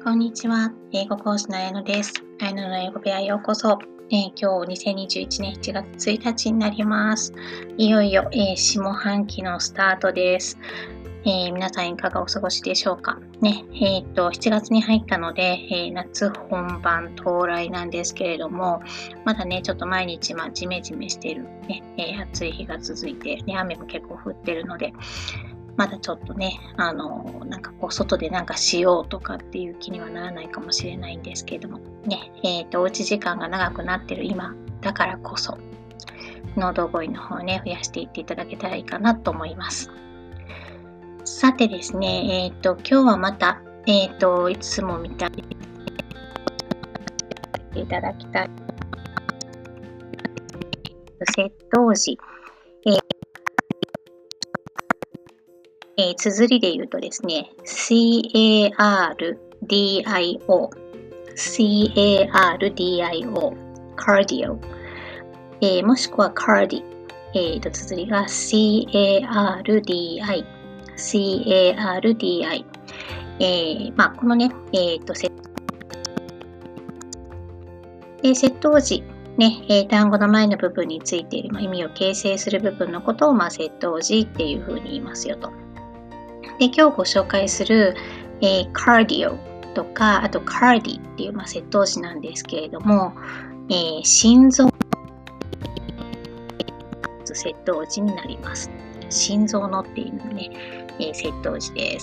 こんにちは。英語講師の綾乃です。綾乃の英語部屋へようこそ。今日2021年7月1日になります。いよいよ、下半期のスタートです。皆さんいかがお過ごしでしょうか。7月に入ったので、夏本番到来なんですけれども、まだね、ちょっと毎日ジメジメしている、暑い日が続いて、雨も結構降ってるので、まだちょっとね、外でしようとかっていう気にはならないかもしれないんですけれども、おうち時間が長くなってる今だからこそ、喉声の方をね、増やしていっていただけたらいいかなと思います。さてですね、今日はまた、いつも見たいいただきたい。窃盗時。綴りで言うとですね、CARDIO、CARDIO、もしくは CARDI、綴りが CARDI、CARDI。このね、窃盗時、単語の前の部分についている、意味を形成する部分のことを、窃盗時っていうふうに言いますよと。で、今日ご紹介する、cardio とか、あと cardi っていう、窃盗時なんですけれども、心臓窃盗時になります。心臓のっていうのね、窃盗時です。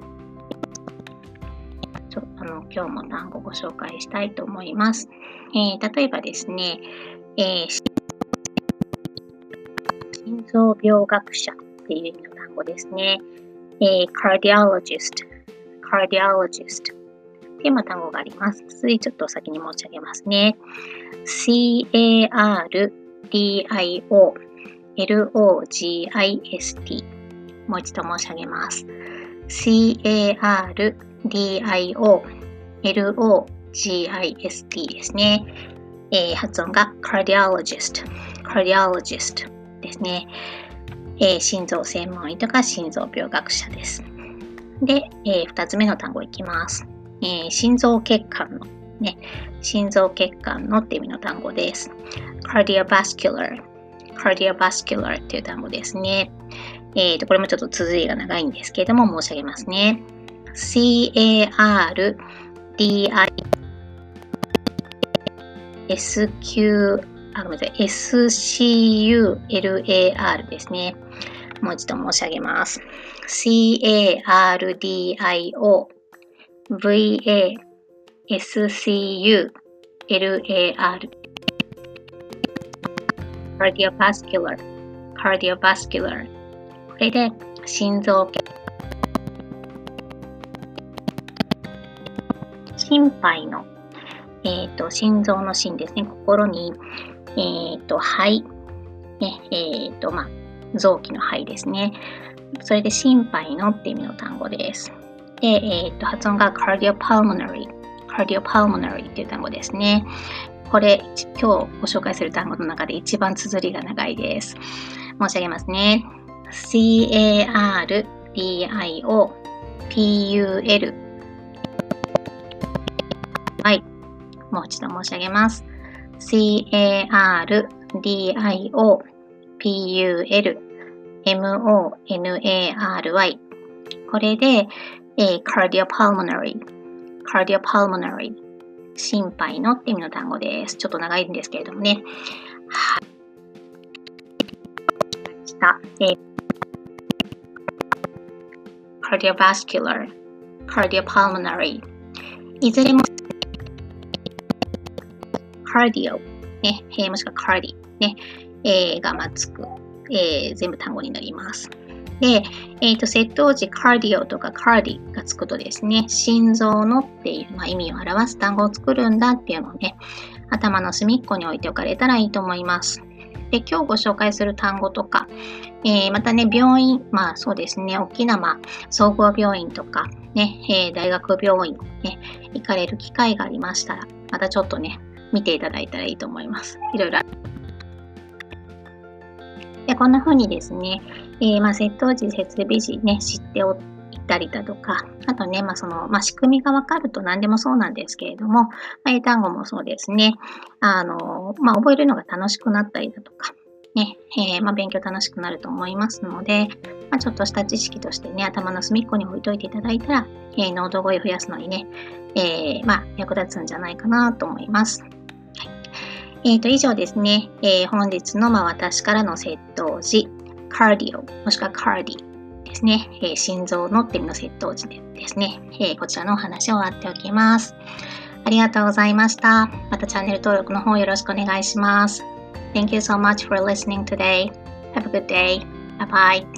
今日も単語をご紹介したいと思います。例えばですね、心臓病学者っていう意味の単語ですね。cardiologist っていう単語があります。続いてちょっと先に申し上げますね。cardio logist もう一度申し上げます。cardio logist ですね。発音が cardiologist ですね。心臓専門医とか心臓病学者です。で、2つ目の単語いきます。心臓血管の、心臓血管のっていう意味の単語です。cardiovascular っていう単語ですね。これもちょっと綴りが長いんですけれども申し上げますね。CARDIOVASCULAR ですね。もう一度申し上げます。CARDIOVASCULAR cardiovascular これで心臓心肺の、心臓の心ですね。心に、肺、臓器の肺ですね。それで心肺のって意味の単語です。で、発音が cardiopulmonary っていう単語ですね。これ、今日ご紹介する単語の中で一番綴りが長いです。申し上げますね。CARDIOPUL もう一度申し上げます。CARDIOPULMONARY これで、cardiopulmonary 心肺のって意味の単語です。ちょっと長いんですけれどもね。はい。cardiovascular cardiopulmonary いずれもcardio もしくは cardi がつく、全部単語になります。で、窃盗時 cardio とか cardi がつくとですね、心臓のっていう、意味を表す単語を作るんだっていうのをね、頭の隅っこに置いておかれたらいいと思います。で、今日ご紹介する単語とか、またね、病院、そうですね、大きな総合病院とか、大学病院、行かれる機会がありましたら、またちょっとね、見ていただいたらいいと思います。いろいろでこんな風にですね、窃盗時、設備時ね、知っておいたりだとか、あとね、仕組みがわかると何でもそうなんですけれども、英単語もそうですね。覚えるのが楽しくなったりだとか、ね、勉強楽しくなると思いますので、ちょっとした知識としてね、頭の隅っこに置いといていただいたら、脳動語彙を増やすのにね、役立つんじゃないかなと思います。以上ですね、本日の私からの窃盗時、カーディオ、もしくはカーディですね、心臓のって意味の窃盗時ですね、こちらのお話を終わっておきます。ありがとうございました。またチャンネル登録の方よろしくお願いします。Thank you so much for listening today. Have a good day. Bye bye.